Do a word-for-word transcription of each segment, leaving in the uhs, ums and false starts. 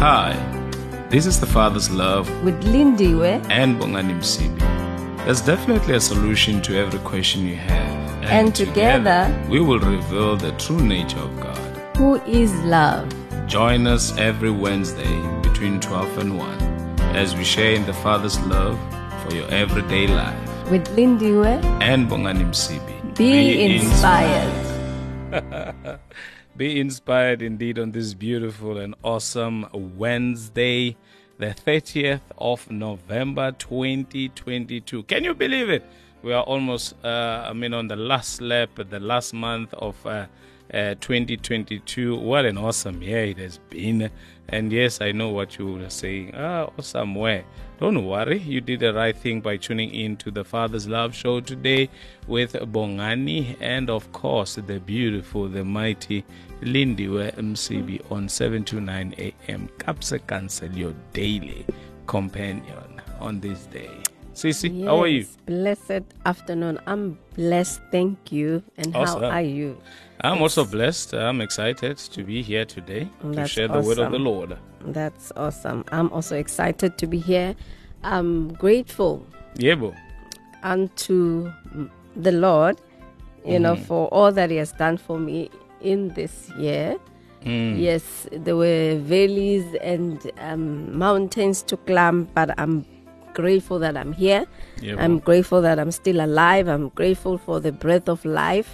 Hi, this is the Father's Love with Lindiwe and Bongani Msibi. There's definitely a solution to every question you have. And, and together, together, we will reveal the true nature of God, who is love. Join us every Wednesday between twelve and one as we share in the Father's love for your everyday life. With Lindiwe and Bongani Msibi. Be, Be inspired. inspired. Be inspired indeed on this beautiful and awesome Wednesday, the thirtieth of November twenty twenty-two. Can you believe it? We are almost, uh, I mean, on the last lap, the last month of uh, uh, twenty twenty-two. What an awesome year it has been. And yes, I know what you were saying. Ah, awesome where? Don't worry, you did the right thing by tuning in to the Father's Love Show today with Bongani and, of course, the beautiful, the mighty Lindiwe Msibi on seven to nine a.m. Kapse Cancel, your daily companion on this day. Sisi, yes, how are you? Blessed afternoon. I'm blessed, thank you. And awesome. How are you? I'm it's, also blessed. I'm excited to be here today to share the awesome. word of the Lord. That's awesome. I'm also excited to be here. I'm grateful Yebo. unto the Lord, you mm-hmm. know, for all that He has done for me in this year. Mm. Yes, there were valleys and um, mountains to climb, but I'm grateful that I'm here. Yebo. I'm grateful that I'm still alive. I'm grateful for the breath of life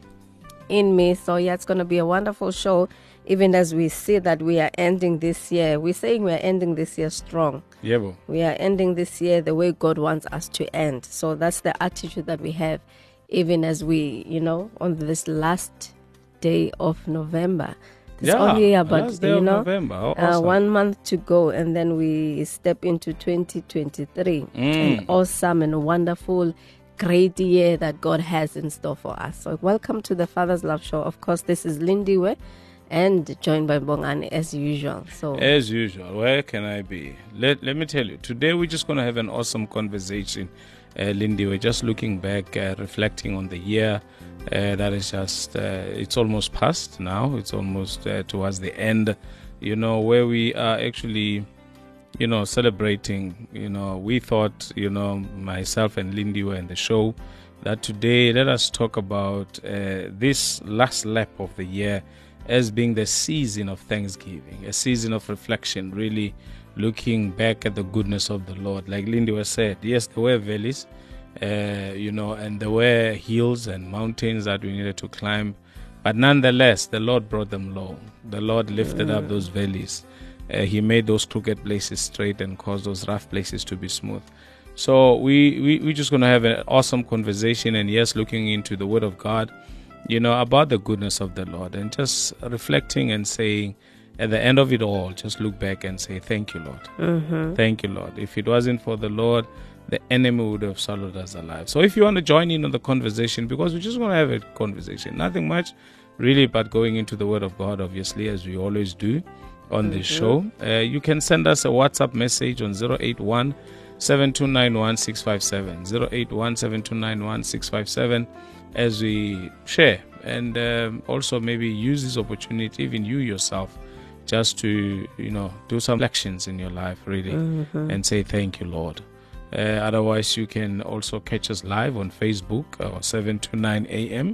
in me. So yeah, it's going to be a wonderful show. Even as we see that we are ending this year, we're saying we're ending this year strong. Yeah, we are ending this year the way God wants us to end. So that's the attitude that we have, even as we, you know, on this last day of November. It's yeah, only about, last day you of know, November. Oh, uh, awesome. one month to go, and then we step into twenty twenty-three. Mm. An awesome and wonderful, great year that God has in store for us. So welcome to the Father's Love Show. Of course, this is Lindiwe and joined by Bongani as usual. So as usual, where can I be? Let let me tell you, today we're just going to have an awesome conversation, uh, Lindy. We're just looking back, uh, reflecting on the year uh, that is just, uh, it's almost past now. It's almost uh, towards the end, you know, where we are actually, you know, celebrating. You know, we thought, you know, myself and Lindy were in the show, that today let us talk about uh, this last lap of the year as being the season of Thanksgiving, a season of reflection, really looking back at the goodness of the Lord. Like Lindy was said, yes, there were valleys, uh, you know, and there were hills and mountains that we needed to climb. But nonetheless, the Lord brought them low. The Lord lifted up those valleys. Uh, he made those crooked places straight and caused those rough places to be smooth. So we, we, we're just going to have an awesome conversation, and yes, looking into the Word of God, you know, about the goodness of the Lord, and just reflecting and saying, at the end of it all, just look back and say, thank you, Lord. Mm-hmm. Thank you, Lord. If it wasn't for the Lord, the enemy would have swallowed us alive. So if you want to join in on the conversation, because we're just going to have a conversation, nothing much really, but going into the Word of God, obviously, as we always do on mm-hmm. this show, uh, you can send us a WhatsApp message on zero eight one, seven two nine one, six five seven, zero eight one, seven two nine one, six five seven, as we share, and um, also maybe use this opportunity, even you yourself, just to, you know, do some reflections in your life, really, mm-hmm. and say thank you, Lord. Uh, otherwise, you can also catch us live on Facebook, or seven to nine a.m.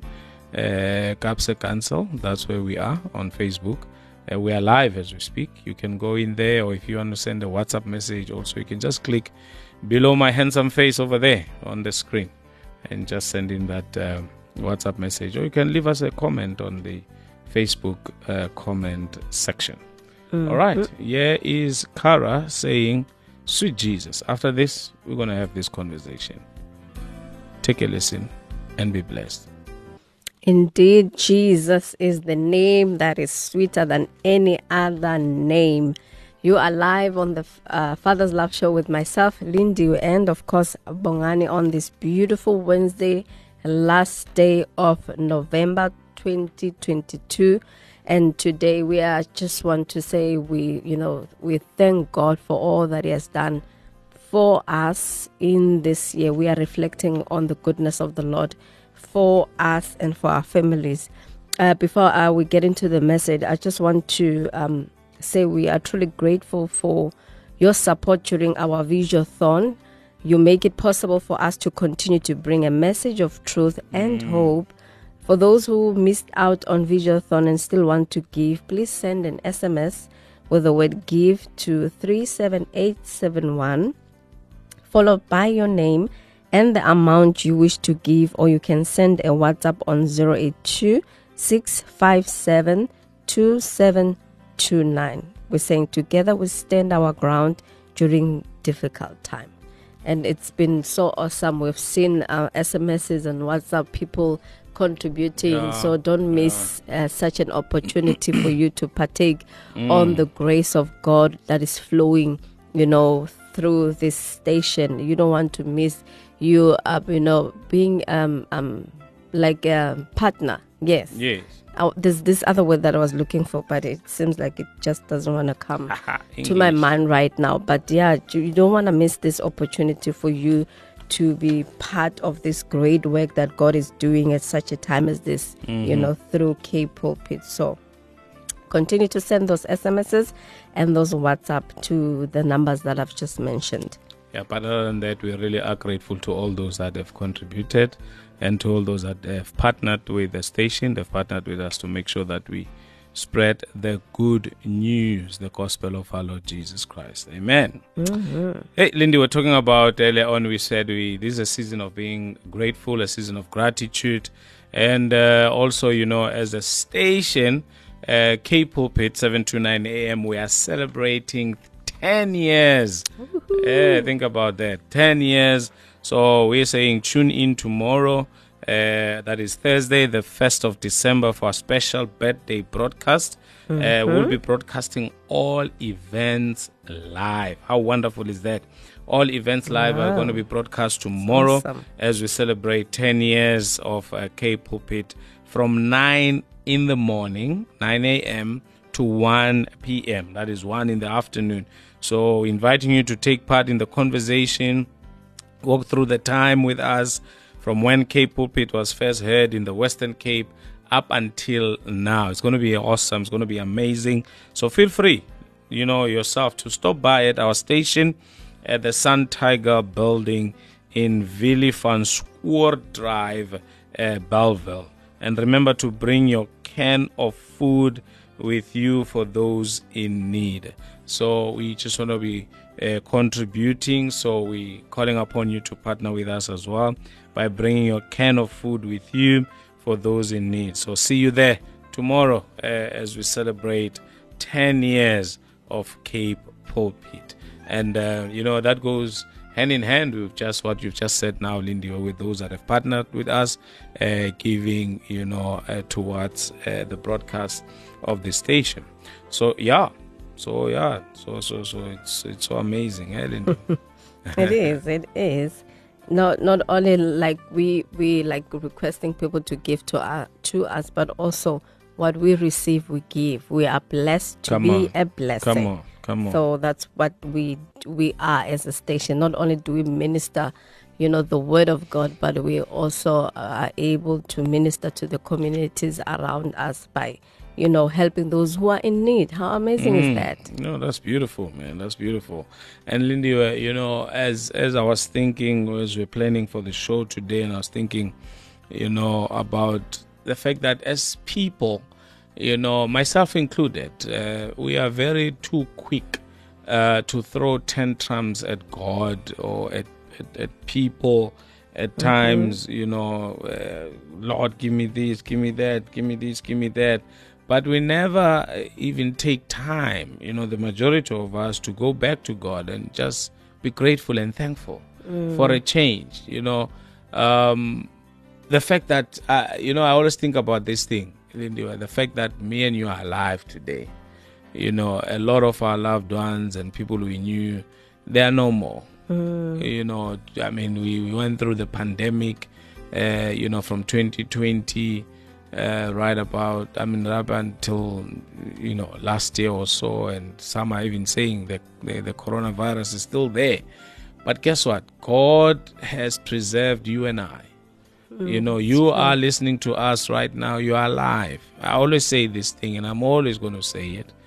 Uh, Kapse Cancel, that's where we are on Facebook. Uh, we are live as we speak. You can go in there, or if you want to send a WhatsApp message, also you can just click below my handsome face over there on the screen and just send in that uh, WhatsApp message, or you can leave us a comment on the Facebook uh, comment section. Mm-hmm. All right, here is Kara saying, sweet Jesus. After this, we're going to have this conversation. Take a listen and be blessed. Indeed, Jesus is the name that is sweeter than any other name. You are live on the uh, Father's Love Show with myself, Lindy, and of course, Bongani, on this beautiful Wednesday, last day of November twenty twenty-two. And today we are just want to say we, you know, we thank God for all that He has done for us in this year. We are reflecting on the goodness of the Lord for us and for our families. Uh, before uh, we get into the message, I just want to um, say we are truly grateful for your support during our Visual-thon. You make it possible for us to continue to bring a message of truth and mm. hope. For those who missed out on Visual-thon and still want to give, please send an S M S with the word give to three seven eight seven one, followed by your name and the amount you wish to give, or you can send a WhatsApp on zero eight two, six five seven, two seven two nine. We're saying together we stand our ground during difficult time. And it's been so awesome. We've seen uh, S M Ses and WhatsApp people contributing, yeah, so don't miss yeah. uh, such an opportunity for you to partake mm. on the grace of God that is flowing, you know, through this station. You don't want to miss you, uh, you know, being um um like a partner. Yes. Yes. Uh, there's this other word that I was looking for, but it seems like it just doesn't want to come to my mind right now. But yeah, you don't want to miss this opportunity for you to be part of this great work that God is doing at such a time as this, mm-hmm. you know, through K Pulpit. So continue to send those S M Ses and those WhatsApp to the numbers that I've just mentioned. Yeah, but other than that, we really are grateful to all those that have contributed and to all those that have partnered with the station. They've partnered with us to make sure that we spread the good news, the gospel of our Lord Jesus Christ. Amen. Mm-hmm. Hey, Lindy, we're talking about earlier on, we said we this is a season of being grateful, a season of gratitude. And uh, also, you know, as a station, uh, K Pulpit, seven to nine a.m., we are celebrating ten years. Yeah, think about that. ten years. So we're saying tune in tomorrow. Uh, that is Thursday, the first of December, for a special birthday broadcast. Mm-hmm. Uh, we'll be broadcasting all events live. How wonderful is that? All events live wow. are going to be broadcast tomorrow awesome. As we celebrate ten years of uh, K Pulpit from nine in the morning, nine a.m. to one p.m. That is one in the afternoon. So inviting you to take part in the conversation, walk through the time with us, from when K Pulpit was first heard in the Western Cape up until now. It's going to be awesome. It's going to be amazing. So feel free, you know, yourself to stop by at our station at the Sun Tiger building in Villivanspoort Drive, uh, Bellville. And remember to bring your can of food with you for those in need. So we just want to be uh, contributing. So we calling upon you to partner with us as well by bringing your can of food with you for those in need. So see you there tomorrow uh, as we celebrate ten years of Cape Pulpit. And, uh, you know, that goes hand in hand with just what you've just said now, Lindy, with those that have partnered with us, uh, giving, you know, uh, towards uh, the broadcast of the station. So, yeah. So, yeah. So, so, so it's it's so amazing, eh, Lindy? It is. It is. Not not only like we we like requesting people to give to our, to us, but also what we receive, we give. We are blessed to come be on. a blessing. Come on, come on. So that's what we we are as a station. Not only do we minister, you know, the word of God, but we also are able to minister to the communities around us by, you know, helping those who are in need. How amazing mm. is that? No, that's beautiful, man. That's beautiful. And Lindy, you know, as as I was thinking, as we're planning for the show today, and I was thinking, you know, about the fact that as people, you know, myself included, uh, we are very too quick uh, to throw tantrums at God or at, at, at people. At mm-hmm. times, you know, uh, Lord, give me this, give me that, give me this, give me that. But we never even take time, you know, the majority of us, to go back to God and just be grateful and thankful mm. for a change. You know, um, the fact that, uh, you know, I always think about this thing, the fact that me and you are alive today. You know, a lot of our loved ones and people we knew, they are no more. Mm. You know, I mean, we, we went through the pandemic, uh, you know, from twenty twenty. Uh, right about, I mean, up until, you know, last year or so, and some are even saying that the, the coronavirus is still there. But guess what? God has preserved you and I. Mm, you know, you are listening to us right now. You are alive. I always say this thing, and I'm always going to say it.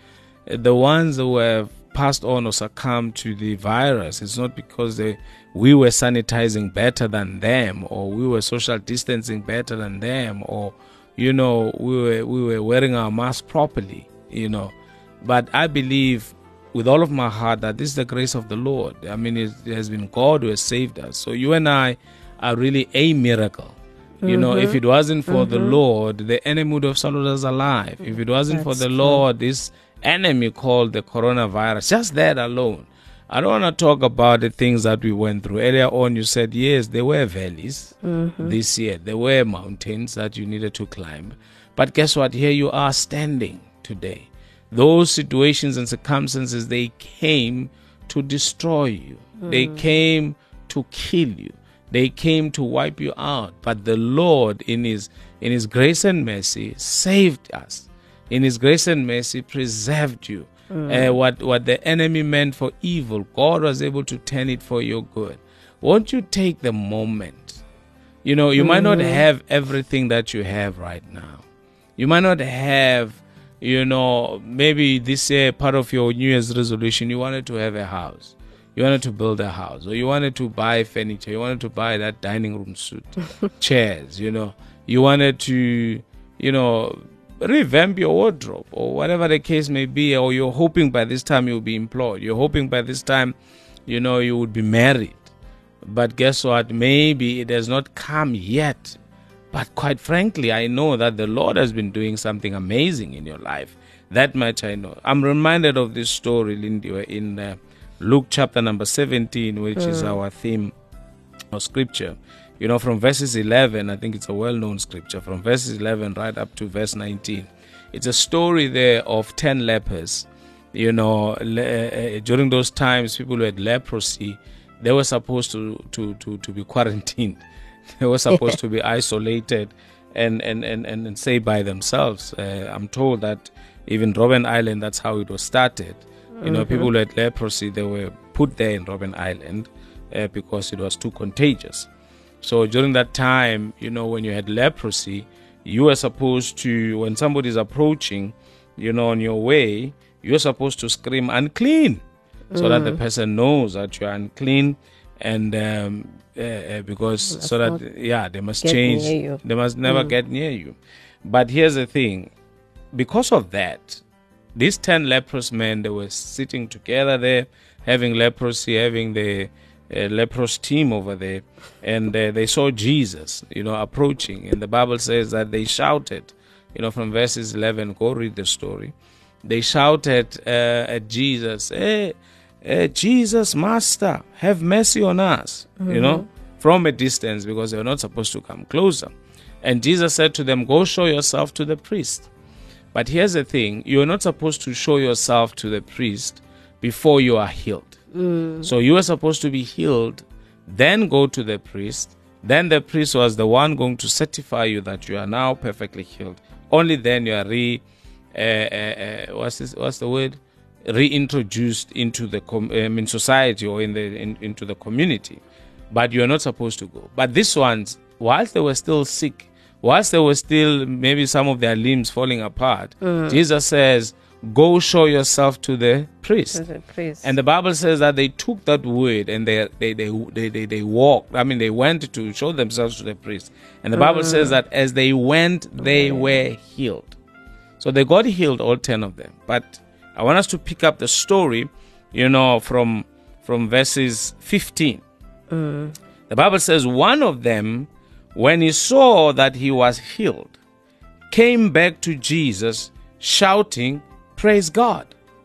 the ones who have passed on or succumbed to the virus, it's not because they, we were sanitizing better than them, or we were social distancing better than them, or, you know, we were, we were wearing our mask properly, you know. But I believe with all of my heart that this is the grace of the Lord. I mean, it has been God who has saved us. So you and I are really a miracle. You mm-hmm. know, if it wasn't for mm-hmm. the Lord, the enemy would have swallowed us alive. If it wasn't That's for the true. Lord, this enemy called the coronavirus, just that alone. I don't want to talk about the things that we went through. Earlier on, you said, yes, there were valleys mm-hmm. this year. There were mountains that you needed to climb. But guess what? Here you are standing today. Those situations and circumstances, they came to destroy you. Mm. They came to kill you. They came to wipe you out. But the Lord, in His in His grace and mercy, saved us. In His grace and mercy, preserved you. Mm. Uh, what, what the enemy meant for evil, God was able to turn it for your good. Won't you take the moment? You know, you mm. might not have everything that you have right now. You might not have, you know, maybe this year, part of your New Year's resolution, you wanted to have a house. You wanted to build a house, or you wanted to buy furniture. You wanted to buy that dining room suite, chairs, you know. You wanted to, you know, revamp your wardrobe, or whatever the case may be, or you're hoping by this time you'll be employed. You're hoping by this time, you know, you would be married. But guess what? Maybe it has not come yet. But quite frankly, I know that the Lord has been doing something amazing in your life. That much I know. I'm reminded of this story, Lindy, in uh, Luke chapter number seventeen, which mm. is our theme of scripture. You know, from verses eleven, I think it's a well-known scripture, from verses eleven right up to verse nineteen. It's a story there of ten lepers. You know, le- uh, during those times, people who had leprosy, they were supposed to, to, to, to be quarantined. They were supposed to be isolated and, and, and, and, and stay by themselves. Uh, I'm told that even Robben Island, that's how it was started. You mm-hmm. know, people who had leprosy, they were put there in Robben Island uh, because it was too contagious. So during that time, you know, when you had leprosy, you were supposed to, when somebody is approaching, you know, on your way, you're supposed to scream unclean mm. so that the person knows that you're unclean. And um, uh, uh, because That's so that yeah they must change, they must never mm. get near you. But here's the thing, because of that, these ten leprous men, they were sitting together there, having leprosy, having the uh, leprous team over there, and uh, they saw Jesus, you know, approaching, and the Bible says that they shouted, you know, from verses eleven. Go read the story. They shouted uh, at Jesus, "Hey, Uh, Jesus, Master, have mercy on us," mm-hmm. you know, from a distance, because they were not supposed to come closer. And Jesus said to them, "Go show yourself to the priest." But here's the thing, you're not supposed to show yourself to the priest before you are healed. Mm. So you are supposed to be healed, then go to the priest. Then the priest was the one going to certify you that you are now perfectly healed. Only then you are re, uh, uh, uh, what's this, what's the word? reintroduced into the com- um, in society or in the in, into the community, but you are not supposed to go. But these ones, whilst they were still sick, whilst they were still maybe some of their limbs falling apart, mm. Jesus says, "Go show yourself to the priest." To the priest. And the Bible says that they took that word and they they they they they, they walked. I mean, they went to show themselves to the priest. And the Bible mm. says that as they went, they okay. were healed. So they got healed, all ten of them. But I want us to pick up the story, you know, from from verses fifteen. Mm. The Bible says, one of them, when he saw that he was healed, came back to Jesus shouting, "Praise God."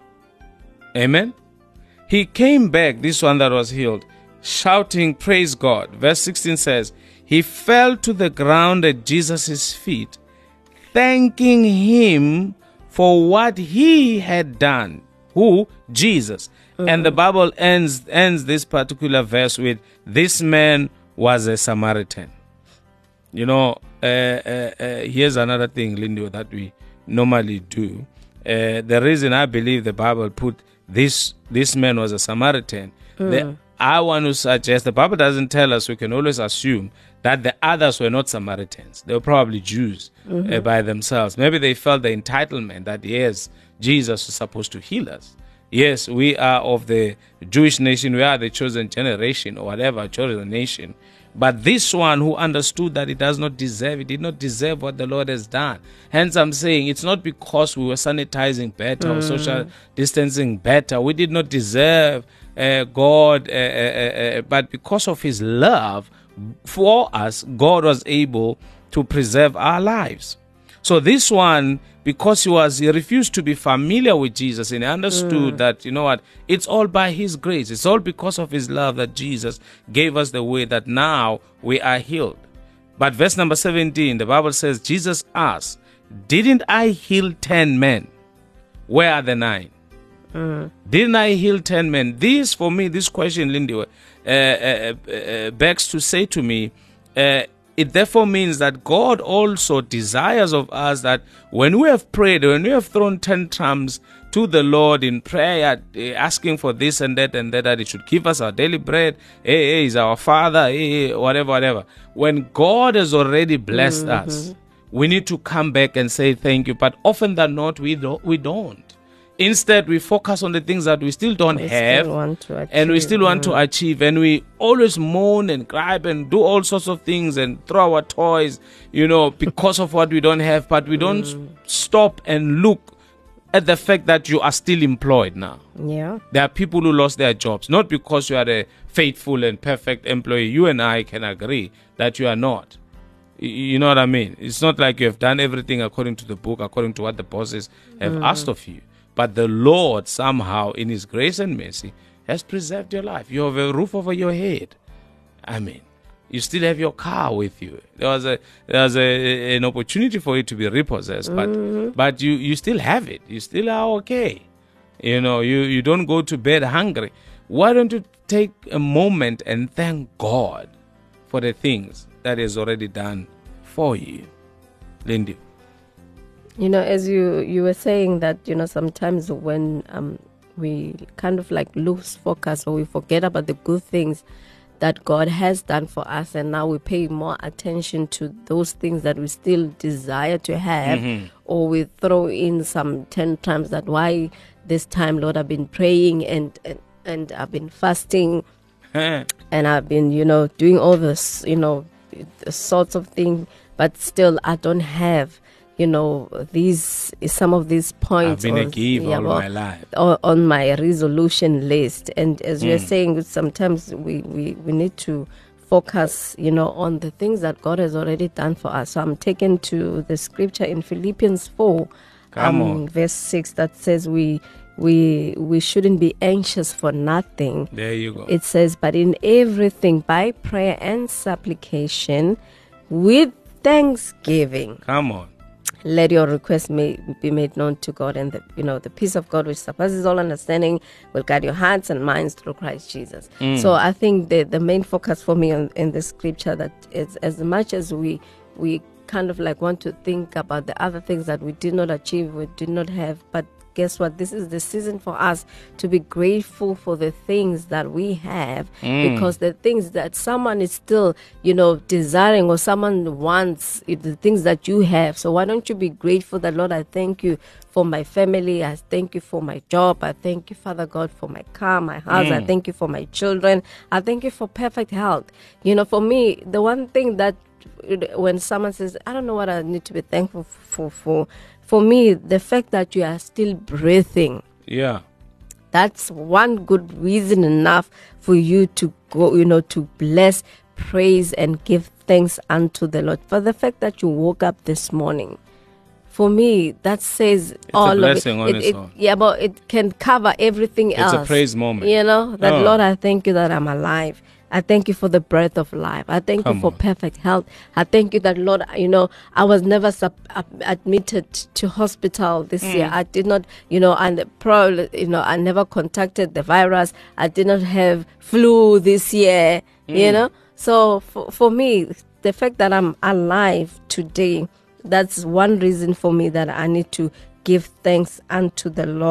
Amen. He came back, this one that was healed, shouting, "Praise God." Verse sixteen says, he fell to the ground at Jesus' feet, thanking him for what he had done. Who? Jesus. Mm-hmm. And the Bible ends ends this particular verse with, this man was a Samaritan. You know, uh, uh, uh, here's another thing, Lindy, that we normally do. Uh, the reason I believe the Bible put this this man was a Samaritan, mm. the, I want to suggest, the Bible doesn't tell us, we can always assume that the others were not Samaritans. They were probably Jews mm-hmm. uh, by themselves. Maybe they felt the entitlement that, yes, Jesus is supposed to heal us. Yes, we are of the Jewish nation, we are the chosen generation or whatever, chosen nation. But this one who understood that he does not deserve, he did not deserve what the Lord has done. Hence I'm saying it's not because we were sanitizing better mm. or social distancing better. We did not deserve uh, God, uh, uh, uh, but because of his love for us, God was able to preserve our lives. So this one, because he was, he refused to be familiar with Jesus, and he understood mm. that, you know what, it's all by his grace. It's all because of his love that Jesus gave us the way that now we are healed. But verse number seventeen, the Bible says, Jesus asked, didn't I heal ten men? Where are the nine? Mm. Didn't I heal ten men? This, for me, this question, Lindy, uh, uh, uh, begs to say to me, uh, it therefore means that God also desires of us that when we have prayed, when we have thrown tantrums to the Lord in prayer, asking for this and that and that, that He should give us our daily bread, hey, hey, He's our Father, hey, hey, whatever, whatever. When God has already blessed mm-hmm. us, we need to come back and say thank you. But often than not, we don't. We don't. Instead, we focus on the things that we still don't we have still want to achieve, and we still want mm. to achieve. And we always moan and cry and do all sorts of things and throw our toys, you know, because of what we don't have. But we don't mm. stop and look at the fact that you are still employed now. Yeah. There are people who lost their jobs, not because you are a faithful and perfect employee. You and I can agree that you are not. You know what I mean? It's not like you have done everything according to the book, according to what the bosses have mm. asked of you. But the Lord somehow, in His grace and mercy, has preserved your life. You have a roof over your head. I mean, you still have your car with you. There was a there was a, an opportunity for it to be repossessed, but mm-hmm. but you, you still have it. You still are okay. You know, you, you don't go to bed hungry. Why don't you take a moment and thank God for the things that He has already done for you, Lindy? You know, as you, you were saying that, you know, sometimes when um, we kind of like lose focus or we forget about the good things that God has done for us, and now we pay more attention to those things that we still desire to have, mm-hmm. or we throw in some ten times that why this time, Lord, I've been praying and, and, and I've been fasting and I've been, you know, doing all this, you know, sorts of things, but still I don't have, you know, these some of these points. I've been or, a giver yeah, all well, my life. Or, on my resolution list. And as mm. you're saying, sometimes we, we, we need to focus, you know, on the things that God has already done for us. So I'm taken to the scripture in Philippians four, Come um, on. verse six, that says we we we shouldn't be anxious for nothing. There you go. It says, but in everything by prayer and supplication with thanksgiving. Come on. Let your request may be made known to God, and the, you know, the peace of God which surpasses all understanding will guide your hearts and minds through Christ Jesus. Mm. So I think the the main focus for me on, in the scripture that is, as much as we we kind of like want to think about the other things that we did not achieve, we did not have, but guess what? This is the season for us to be grateful for the things that we have, mm. because the things that someone is still, you know, desiring, or someone wants, the things that you have. So why don't you be grateful that, Lord, I thank you for my family. I thank you for my job. I thank you, Father God, for my car, my house. Mm. I thank you for my children. I thank you for perfect health. You know, for me, the one thing that when someone says, I don't know what I need to be thankful for, for, for me, the fact that you are still breathing. Yeah. That's one good reason enough for you to go, you know, to bless, praise, and give thanks unto the Lord. For the fact that you woke up this morning, for me, that says it's all a blessing of it. On it, its it own. Yeah, but it can cover everything it's else. It's a praise moment. You know, that, oh. Lord, I thank you that I'm alive. I thank you for the breath of life. I thank Come you for on. perfect health. I thank you that, Lord, you know, I was never sub- admitted to hospital this mm. year. I did not, you know, and probably, you know, I never contacted the virus. I did not have flu this year, mm. you know. So for, for me, the fact that I'm alive today, that's one reason for me that I need to give thanks unto the Lord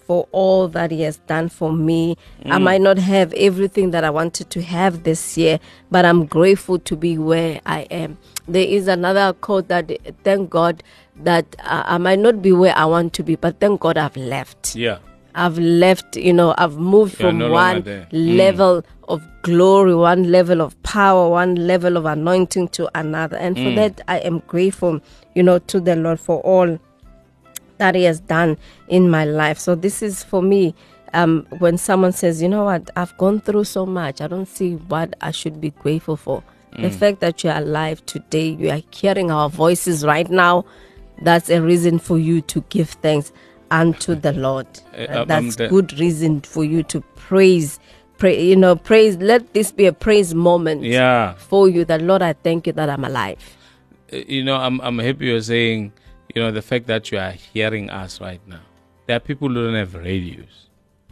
for all that He has done for me. Mm. I might not have everything that I wanted to have this year, but I'm grateful to be where I am. There is another quote that, thank God that uh, I might not be where I want to be, but thank God I've left. Yeah. I've left, you know, I've moved You're from no one level mm. of glory, one level of power, one level of anointing to another. And for mm. that, I am grateful, you know, to the Lord for all that He has done in my life. So this is for me, um, when someone says, you know what, I've gone through so much, I don't see what I should be grateful for. Mm. The fact that you're alive today, you are hearing our voices right now, that's a reason for you to give thanks unto the Lord. Uh, that's um, good reason for you to praise. Pray, you know, praise. Let this be a praise moment yeah. for you. That Lord, I thank you that I'm alive. Uh, you know, I'm I'm happy you're saying, you know, the fact that you are hearing us right now. There are people who don't have radios.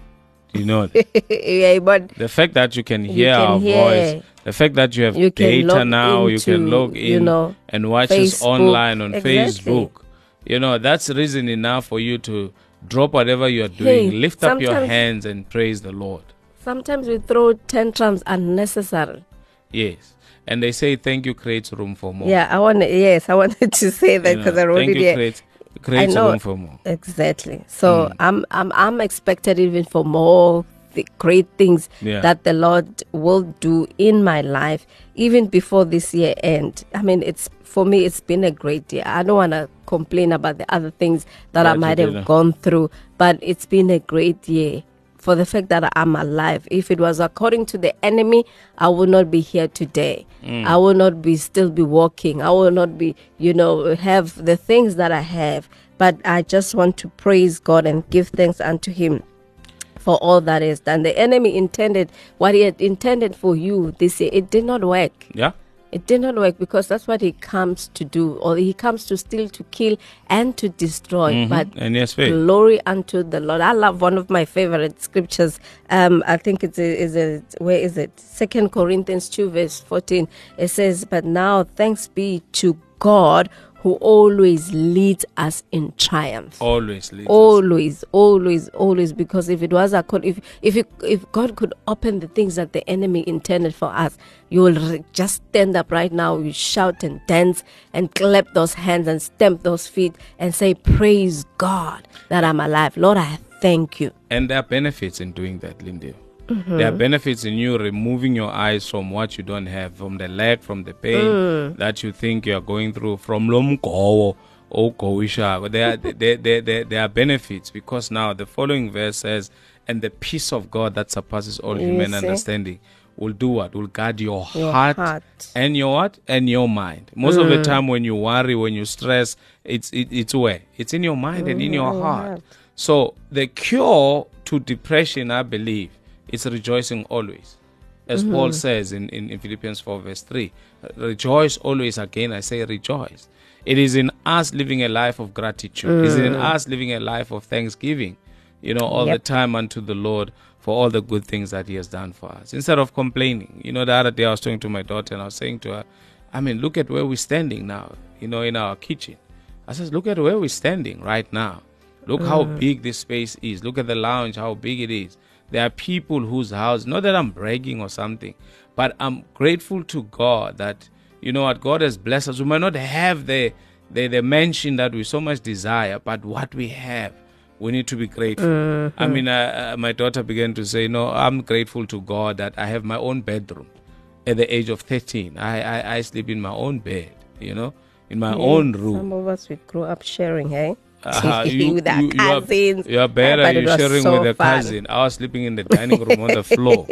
Do you know that? yeah, but the fact that you can hear you can our hear, voice, the fact that you have you data now, into, you can log in you know, and watch Facebook. us online on exactly. Facebook. You know, that's reason enough for you to drop whatever you are doing, hey, lift up your hands and praise the Lord. Sometimes we throw tantrums unnecessary. Yes. And they say thank you creates room for more. Yeah, I want yes, I wanted to say that because you know, I wrote thank it you here. Creates, creates room for more. Exactly. So mm. I'm I'm I'm expected even for more th- great things yeah. that the Lord will do in my life even before this year end. I mean, it's for me it's been a great year. I don't want to complain about the other things that right, I might have gone through, but it's been a great year. For the fact that I'm alive. If it was according to the enemy, I would not be here today. Mm. I will not be still be walking. I will not be, you know, have the things that I have. But I just want to praise God and give thanks unto Him for all that is done. The enemy intended what he had intended for you this year. It did not work. Yeah. It did not work because that's what he comes to do, or he comes to steal, to kill, and to destroy. Mm-hmm. But and yes, glory unto the Lord. I love one of my favorite scriptures. Um, I think it's a, is a where is it? Second Corinthians two verse fourteen. It says, "But now thanks be to God, who always leads us in triumph." Always leads always, us. always, always. Because if it was a if if it, if God could open the things that the enemy intended for us, you will re- just stand up right now. You shout and dance and clap those hands and stamp those feet and say, "Praise God that I'm alive, Lord. I thank you." And there are benefits in doing that, Lindy. Mm-hmm. There are benefits in you removing your eyes from what you don't have, from the lack, from the pain mm. that you think you are going through, from lomgo or koisha. There, there, there, there, there are benefits because now the following verse says, "And the peace of God that surpasses all you human see? understanding will do what? Will guard your, your heart, heart and your what? And your mind." Most mm. of the time when you worry, when you stress, it's it, it's where? It's in your mind mm, and in your heart. heart. So the cure to depression, I believe, it's rejoicing always. As mm-hmm. Paul says in, in, in Philippians four verse three, rejoice always. Again, I say rejoice. It is in us living a life of gratitude. Mm. It is in us living a life of thanksgiving, you know, all yep. the time unto the Lord for all the good things that He has done for us. Instead of complaining. You know, the other day I was talking to my daughter and I was saying to her, I mean, look at where we're standing now, you know, in our kitchen. I said, look at where we're standing right now. Look mm. how big this space is. Look at the lounge, how big it is. There are people whose house, not that I'm bragging or something, but I'm grateful to God that, you know what, God has blessed us. We might not have the, the, the mansion that we so much desire, but what we have, we need to be grateful. Mm-hmm. I mean, uh, uh, my daughter began to say, no, I'm grateful to God that I have my own bedroom at the age of thirteen. I, I, I sleep in my own bed, you know, in my yeah, own room. Some of us, we grew up sharing, hey? Uh, you, with our you, cousins. You are, you are better. Yeah, You're sharing so with a cousin. I was sleeping in the dining room on the floor.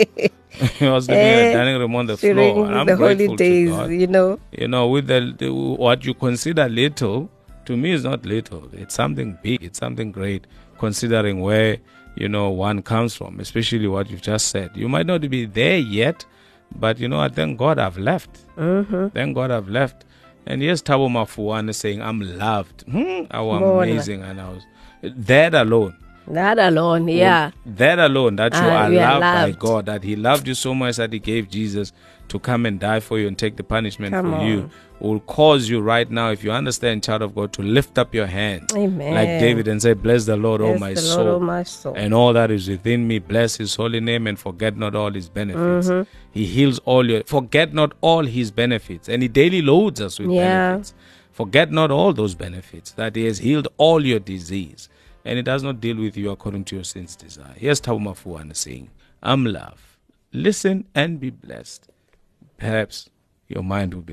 I was sleeping in the dining room on the floor. And I'm the grateful holidays, to God. You know. You know, with the, the what you consider little, to me is not little. It's something big. It's something great, considering where, you know, one comes from, especially what you've just said. You might not be there yet, but, you know, I thank God I've left. Mm-hmm. Thank God I've left. And here's Thabo Mafuane saying, I'm loved. Hmm, how amazing. And I was... That alone, That alone, yeah. That alone, that you Ah, are you are loved by loved. God, that He loved you so much that He gave Jesus to come and die for you and take the punishment Come for you, on. will cause you right now, if you understand, child of God, to lift up your hands Amen. like David and say, bless the Lord, oh Bless my the soul, Lord, oh my soul. and all that is within me. Bless His holy name and forget not all His benefits. Mm-hmm. He heals all your, forget not all His benefits. And He daily loads us with Yeah. benefits. Forget not all those benefits, that He has healed all your disease. And He does not deal with you according to your sin's desire. Here's Thabo Mafuana saying, I'm love. Listen and be blessed. Perhaps your mind will be.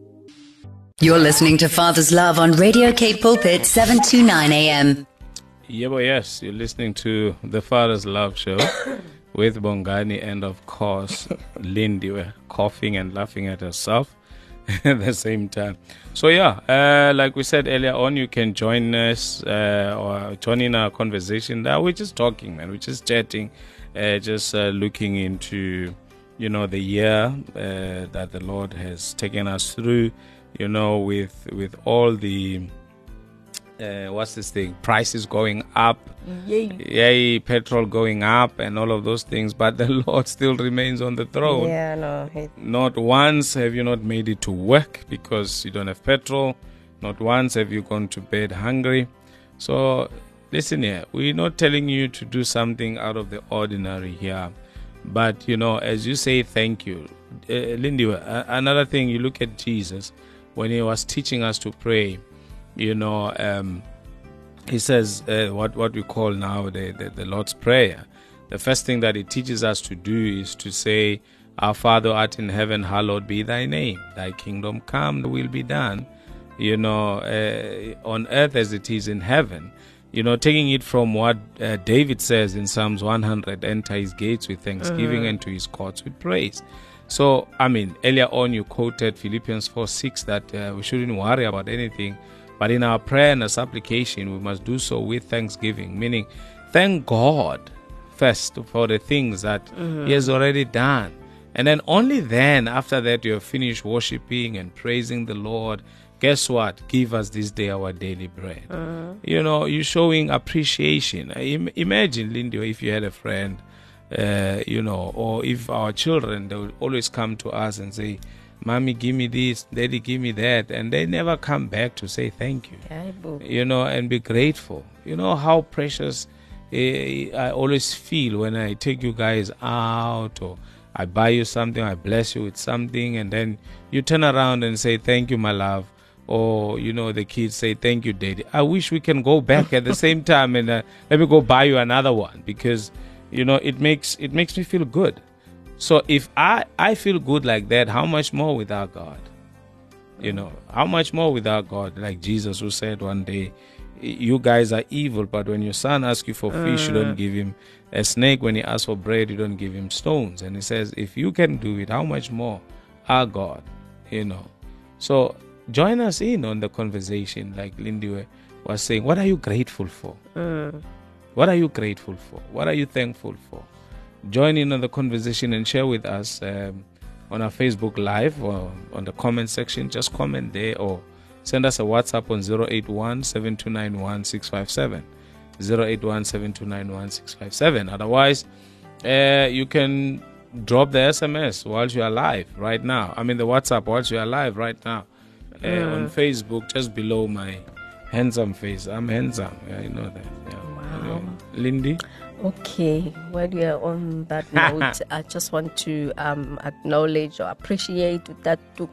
You're listening to Father's Love on Radio Cape Pulpit, seven twenty-nine A M. Yeah, but yes, you're listening to the Father's Love Show with Bongani and, of course, Lindy. We're coughing and laughing at herself at the same time. So, yeah, uh, like we said earlier on, you can join us uh, or join in our conversation. Now, we're just talking, man. We're just chatting, uh, just uh, looking into, you know, the year uh, that the Lord has taken us through, you know, with with all the... Uh, what's this thing? Prices going up, Yay. yay, petrol going up, and all of those things. But the Lord still remains on the throne. Yeah, no. It, Not once have you not made it to work because you don't have petrol. Not once have you gone to bed hungry. So listen here, we're not telling you to do something out of the ordinary here. But, you know, as you say thank you, uh, Lindy, uh, another thing, you look at Jesus when He was teaching us to pray. You know, um, He says uh, what, what we call now the, the, the Lord's Prayer. The first thing that He teaches us to do is to say, Our Father art in heaven, hallowed be Thy name. Thy kingdom come, Thy will be done, you know, uh, on earth as it is in heaven. You know, taking it from what uh, David says in Psalms one hundred, enter His gates with thanksgiving Mm. and to His courts with praise. So, I mean, earlier on you quoted Philippians four six that uh, we shouldn't worry about anything. But in our prayer and our supplication, we must do so with thanksgiving, meaning thank God first for the things that Mm-hmm. He has already done. And then only then, after that, you have finished worshiping and praising the Lord. Guess what? Give us this day our daily bread. Mm-hmm. You know, you're showing appreciation. Im- imagine, Lindy, if you had a friend, uh, you know, or if our children, they would always come to us and say, Mommy, give me this, Daddy, give me that. And they never come back to say thank you, yeah, boo. you know, and be grateful. You know how precious eh, I always feel when I take you guys out or I buy you something, I bless you with something, and then you turn around and say, thank you, my love. Or, you know, the kids say, thank you, Daddy. I wish we can go back at the same time and uh, let me go buy you another one because, you know, it makes it makes me feel good. So if I, I feel good like that, how much more with our God? You know, how much more with our God? Like Jesus who said one day, you guys are evil, but when your son asks you for fish, you don't give him a snake. When he asks for bread, you don't give him stones. And he says, if you can do it, how much more our God? You know. So join us in on the conversation, like Lindy was saying. What are you grateful for? Mm. What are you grateful for? What are you thankful for? Join in on the conversation and share with us um, on our Facebook Live or on the comment section. Just comment there or send us a WhatsApp on zero eight one, seven two nine one, six five seven. zero eight one, seven two nine one, six five seven. Otherwise, uh, you can drop the S M S whilst you are live right now. I mean the WhatsApp whilst you are live right now. Uh, Mm. On Facebook, just below my handsome face. I'm handsome. Yeah, you know that. Yeah. Wow. Anyway, Lindy? Okay, while we are on that note, I just want to um, acknowledge or appreciate that to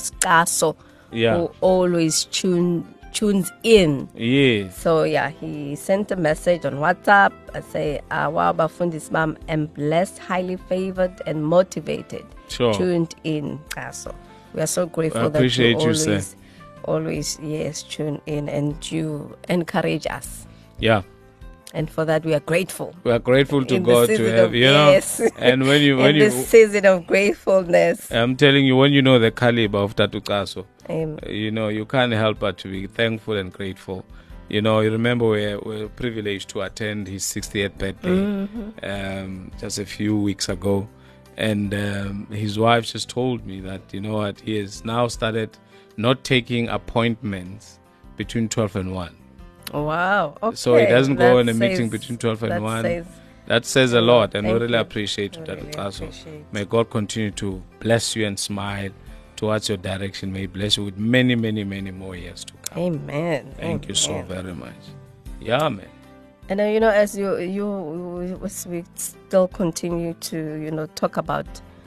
Kaso, Yeah. who always tune tunes in. Yes. So yeah, he sent a message on WhatsApp. I say, uh, "Wow, Bafundis mom, am blessed, highly favored, and motivated." Sure. Tuned in, Kaso. We are so grateful I appreciate that you, you sir. always, always yes, tune in and you encourage us. Yeah. And for that, we are grateful. We are grateful to In the God to season have, of- you know. yes. And when you, when In you, this season of gratefulness. I'm telling you, when you know the caliber of Tatu Kaso, Um, you know, you can't help but to be thankful and grateful. You know, you remember we're, we're privileged to attend his sixtieth birthday Mm-hmm. um, just a few weeks ago. And um, his wife just told me that, you know what, he has now started not taking appointments between twelve and one. Wow. Okay. So he doesn't go That in a meeting says- between twelve and that one. says- That says a lot, and we Thank really you. appreciate We that. really Also, appreciate. may God continue to bless you and smile towards your direction. May He bless you with many, many, many more years to come. Amen. Thank you so Amen. very much. Yeah, man. And uh, you know, as you you as we still continue to you know talk about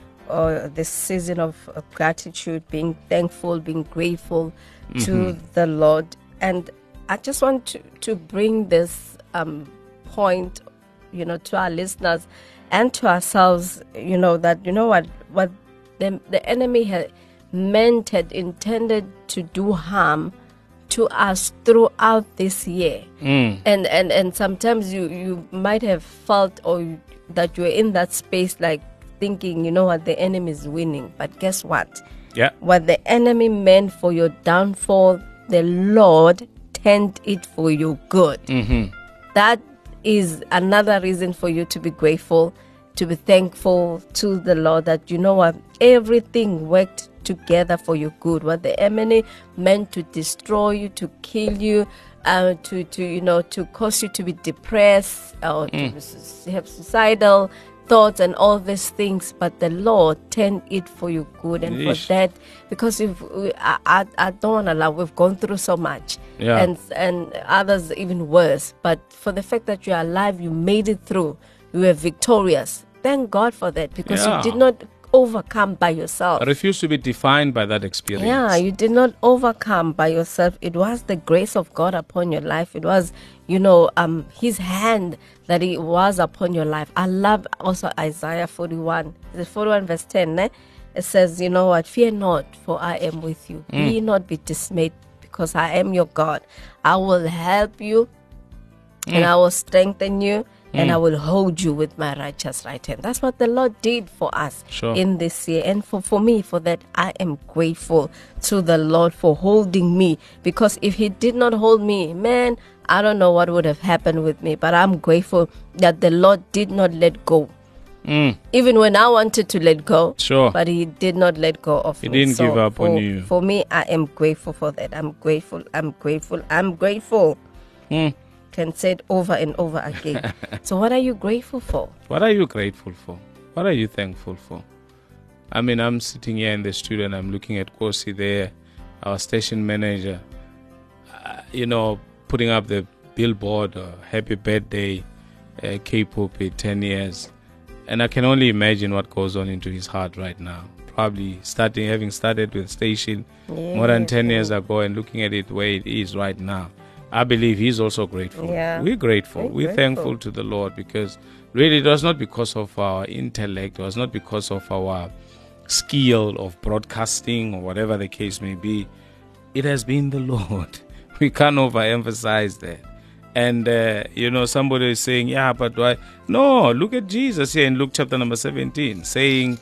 uh, this season of uh, gratitude, being thankful, being grateful to the Lord, and I just want to to bring this um, point, you know, to our listeners and to ourselves, you know, that you know what what the the enemy had meant had intended to do harm to us throughout this year. Mm. And, and and sometimes you you might have felt or you, that you're in that space like thinking, you know what, the enemy is winning. But guess what? Yeah. What the enemy meant for your downfall, the Lord turned it for your good. Mm-hmm. That is another reason for you to be grateful, to be thankful to the Lord that, you know what, everything worked together for your good. What the enemy meant to destroy you, to kill you, uh, to, to you know, to cause you to be depressed or to be su- have suicidal thoughts and all these things, but the Lord turned it for your good. And Yeesh. for that, because if we, I, I, I don't want to lie, we've gone through so much, Yeah. and and others even worse. But for the fact that you're alive, you made it through, you were victorious. Thank God for that, because Yeah. you did not overcome by yourself. I refuse to be defined by that experience. Yeah, you did not overcome by yourself. It was the grace of God upon your life. It was, you know, um, His hand that He was upon your life. I love also Isaiah forty-one, the forty-one verse ten. Eh? It says, you know what? Fear not, for I am with you. Be not be dismayed, because I am your God. I will help you, and I will strengthen you, and I will hold you with my righteous right hand. That's what the Lord did for us Sure. in this year. And for, for me, for that, I am grateful to the Lord for holding me. Because if He did not hold me, man, I don't know what would have happened with me. But I'm grateful that the Lord did not let go. Mm. Even when I wanted to let go, Sure. but He did not let go of He me. didn't So give up for, on you. For me, I am grateful for that. I'm grateful. I'm grateful. I'm grateful. Mm. Can say it over and over again. So what are you grateful for? What are you grateful for? What are you thankful for? I mean, I'm sitting here in the studio and I'm looking at Kosi there, our station manager, uh, you know, putting up the billboard, uh, happy birthday, uh, K-Pulpit, ten years. And I can only imagine what goes on into his heart right now. Probably starting, having started with station more than ten years ago and looking at it where it is right now. I believe he's also grateful. Yeah. We're grateful. We're We're, grateful. thankful to the Lord, because really it was not because of our intellect, it was not because of our skill of broadcasting or whatever the case may be. It has been the Lord. We can't overemphasize that. And, uh, you know, somebody is saying, yeah, but why? No, look at Jesus here in Luke chapter number seventeen, saying,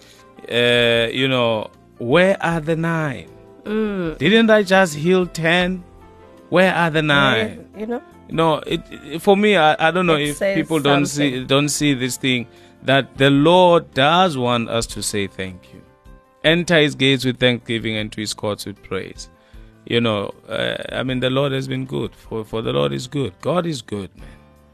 uh, you know, where are the nine? Mm. Didn't I just heal ten? Where are the nine? You know? No, it, it for me, I, I don't know It if says people don't see something. don't see this thing, that the Lord does want us to say thank you. Enter His gates with thanksgiving and to His courts with praise. You know, uh, I mean, the Lord has been good. For for the Lord is good. God is good, man.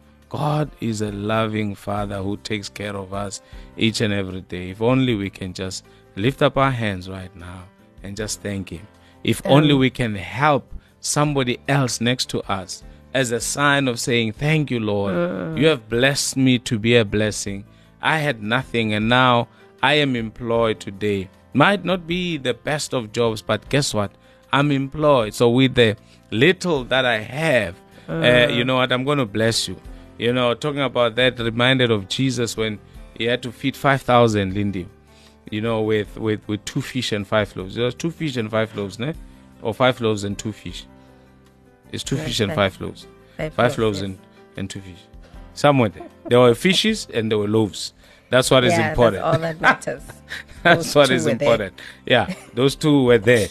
God is a loving Father who takes care of us each and every day. If only we can just lift up our hands right now and just thank Him. If only we can help somebody else next to us as a sign of saying, thank you, Lord. Mm. You have blessed me to be a blessing. I had nothing and now I am employed today. Might not be the best of jobs, but guess what? I'm employed. So with the little that I have, uh, you know what? I'm going to bless you. You know, talking about that, reminded of Jesus when He had to feed five thousand, Lindy, you know, with, with, with two fish and five loaves. There was two fish and five loaves, ne? Or five loaves and two fish. It's two Yeah, fish and five. five loaves. Five Five loaves, loaves yes. and, and two fish. Somewhere there. There were fishes and there were loaves. That's what is Yeah, important. that's all that matters. That's Those what two is were there. important. Yeah, those two were there.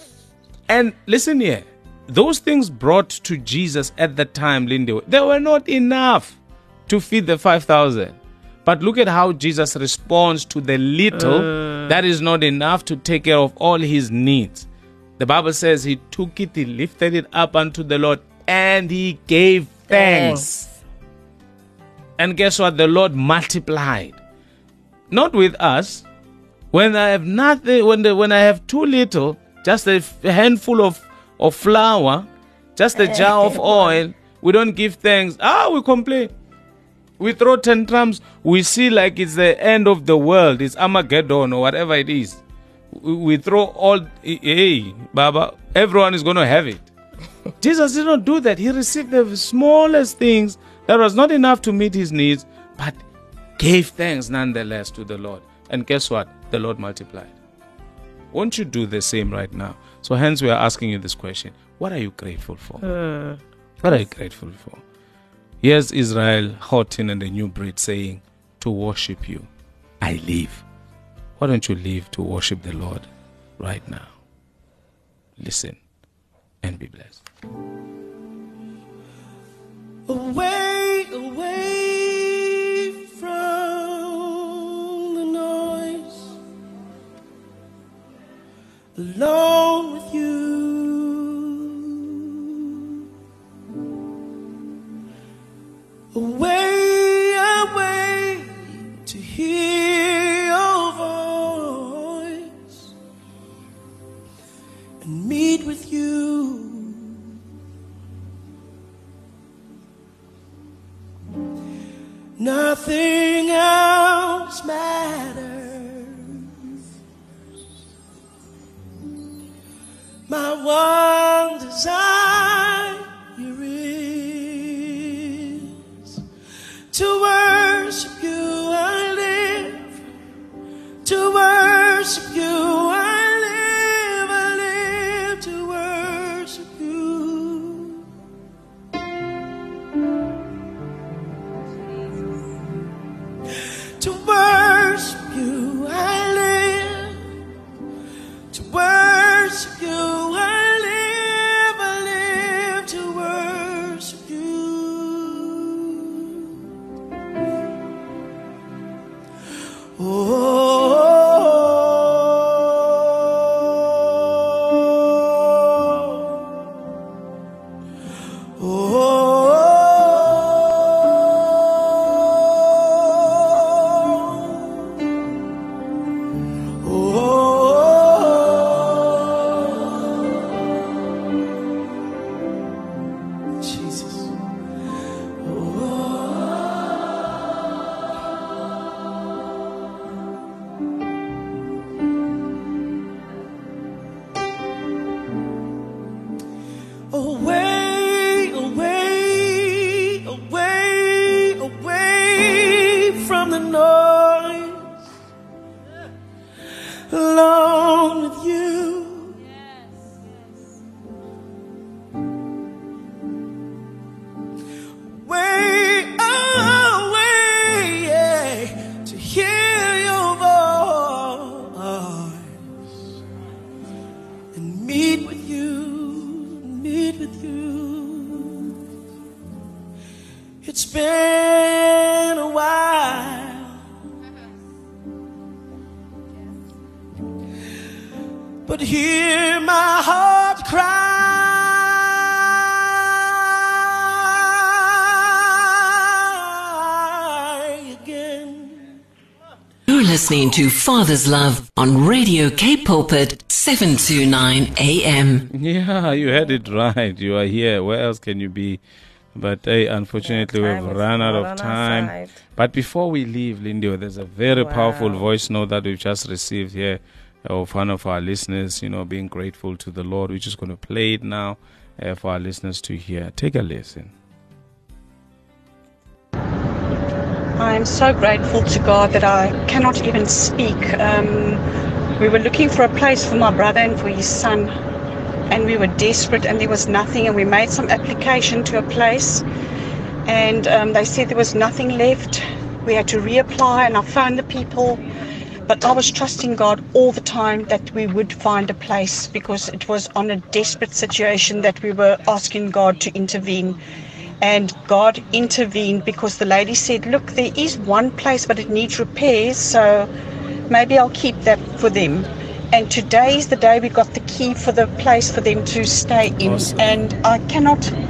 And listen here, those things brought to Jesus at the time, Lindy, they were not enough to feed the five thousand. But look at how Jesus responds to the little that is not enough to take care of all His needs. The Bible says He took it, He lifted it up unto the Lord, and he gave thanks. Thanks. And guess what? The Lord multiplied. Not with us. When I have nothing, when the, when I have too little, just a handful of, of flour, just a jar of oil, we don't give thanks. Ah, we complain. We throw tantrums. We see like it's the end of the world. It's Armageddon or whatever it is. We, we throw all, hey, Baba, everyone is going to have it. Jesus did not do that. He received the smallest things that was not enough to meet his needs, but gave thanks nonetheless to the Lord. And guess what? The Lord multiplied. Won't you do the same right now? So hence we are asking you this question. What are you grateful for? Mm. What are you grateful for? Here's Israel Houghton and the New Breed saying, to worship you, I live. Why don't you live to worship the Lord right now? Listen and be blessed. Away, away from the noise, alone with you, away, away to hear your voice and meet with you. Nothing else matters. My one desire is to worship you. I live to worship you. I live, I live to worship you. To worship you, I live. To worship you, I live. I live to worship you. Oh. Away, away, away, away from the noise, alone with you. Way away, yeah, to hear your voice and meet with you. Meet with you. It's been a while, but hear my heart cry again. You're listening to Father's Love on Radio Cape Pulpit, seven twenty-nine A M. Yeah, you had it right. You are here. Where else can you be? But hey, unfortunately, Yeah, we've time is run out not of on our time. side. But before we leave, Lindy, there's a very Wow. powerful voice note that we've just received here of one of our listeners, you know, being grateful to the Lord. We're just going to play it now uh, for our listeners to hear. Take a listen. I am so grateful to God that I cannot even speak. Um, we were looking for a place for my brother and for his son, and we were desperate and there was nothing, and we made some application to a place and um, they said there was nothing left. We had to reapply, and I phoned the people, but I was trusting God all the time that we would find a place, because it was on a desperate situation that we were asking God to intervene. And God intervened, because the lady said, look, there is one place but it needs repairs, so maybe I'll keep that for them. And today is the day we got the key for the place for them to stay in. Awesome. And I cannot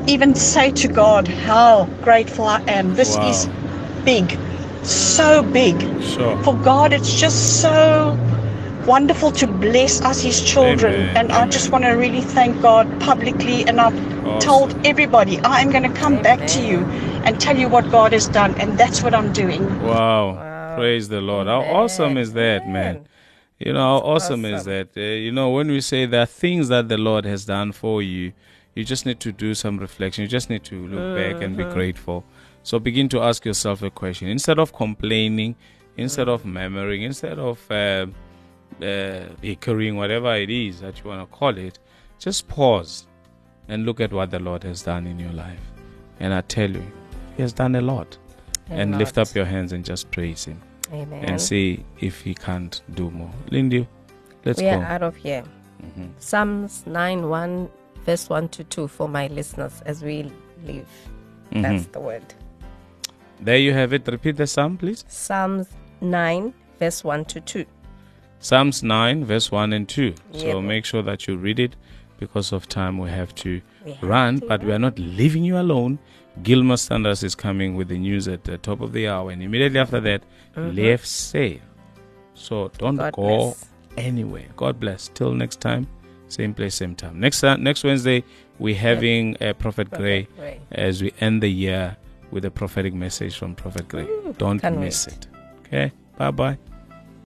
even say to God how grateful I am. This Wow. is big, so big. Sure. For God, it's just so wonderful to bless us, His children. Amen, And I amen. just want to really thank God publicly. And I've Awesome. told everybody, I am going to come back to you and tell you what God has done. And that's what I'm doing. Wow. Praise the Lord. How Amen. awesome is that, man? Amen. You know, how awesome, is awesome. that? Uh, you know, when we say there are things that the Lord has done for you, you just need to do some reflection. You just need to look back and be grateful. So begin to ask yourself a question. Instead of complaining, instead of murmuring, instead of uh, uh, bickering, whatever it is that you want to call it, just pause and look at what the Lord has done in your life. And I tell you, He has done a lot. A and lot. lift up your hands and just praise Him. Amen. And see if He can't do more. Lindy, let's we go. are out of here. Psalms nine one, verse one to two for my listeners as we leave. That's the word. There you have it. Repeat the psalm, please. Psalms nine, verse one to two. Psalms nine, verse one and two. So Yep. make sure that you read it. Because of time, we have to We have run, to but we are not leaving you alone. Gilmer Sanders is coming with the news at the top of the hour, and immediately after that, Lev Sale. So don't God go bless. anywhere. God bless. Till next time, same place, same time. Next time, next Wednesday, we're having uh, Prophet Gray Gray. as we end the year with a prophetic message from Prophet Gray. Don't can't miss wait. it. Okay? Bye bye.